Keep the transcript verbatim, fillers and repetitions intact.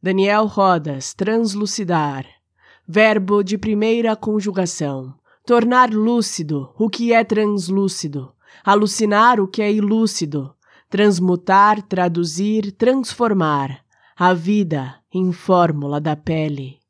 Daniel Rodas, translucidar. Verbo de primeira conjugação. Tornar lúcido o que é translúcido. Alucinar o que é ilúcido. Transmutar, traduzir, transformar. A vida em fórmula da pele.